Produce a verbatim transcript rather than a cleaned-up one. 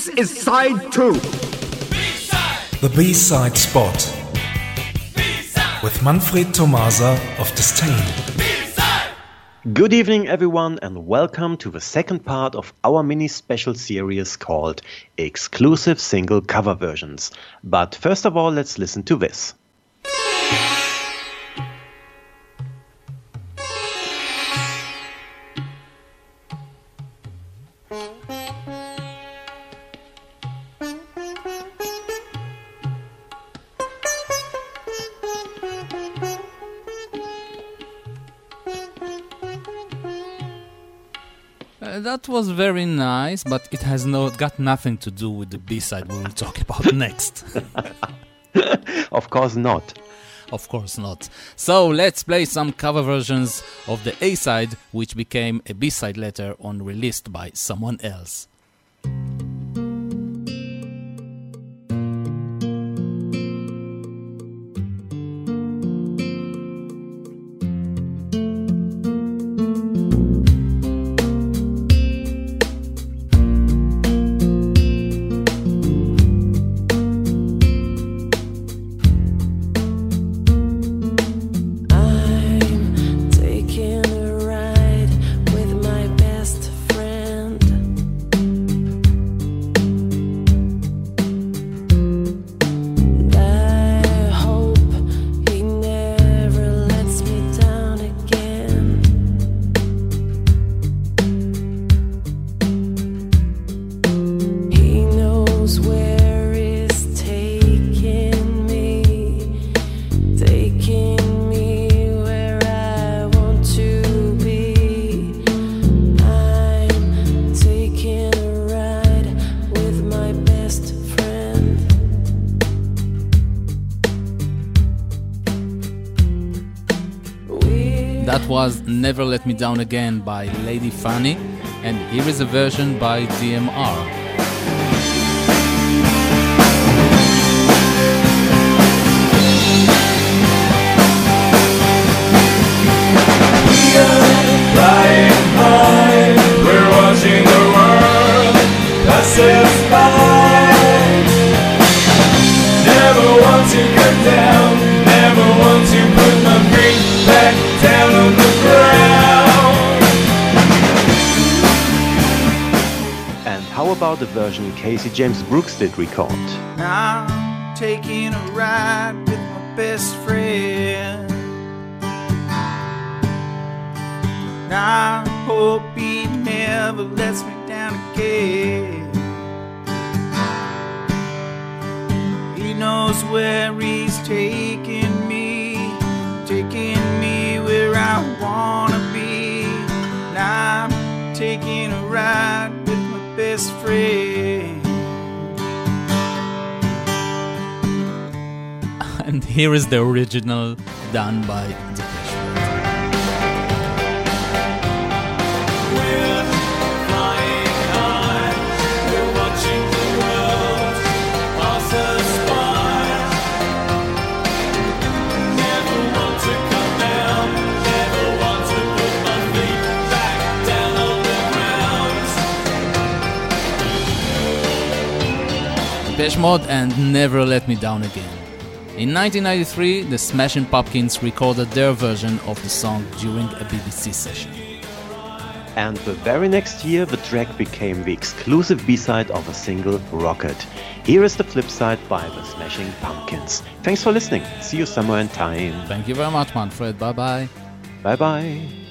This is side two. B-side. The B-side spot. B-side. With Manfred Tomasa of Disdain. Good evening, everyone, and welcome to the second part of our mini special series called Exclusive Single Cover Versions. But first of all, let's listen to this. Uh, that was very nice, but it has no got nothing to do with the B-side we will talk about next. Of course not. Of course not. So let's play some cover versions of the A-side, which became a B-side later on, released by someone else. That was Never Let Me Down Again by Lady Fanny, and here is a version by D M R. Flying high, we're watching the world pass us by. Never want to come down, never want to put my feet back down on the ground. And how about the version Casey James Brooks did record? I'm taking a ride with my best friend. I hope he never lets me down again. He knows where he's taking me, taking me where I wanna be. And I'm taking a ride with my best friend. And here is the original done by Depeche Mode. Depeche Mode and Never Let Me Down Again. In nineteen ninety-three, the Smashing Pumpkins recorded their version of the song during a B B C session. And the very next year, the track became the exclusive B-side of a single, Rocket. Here is the flip side by the Smashing Pumpkins. Thanks for listening. See you somewhere in time. Thank you very much, Manfred. Bye-bye. Bye-bye.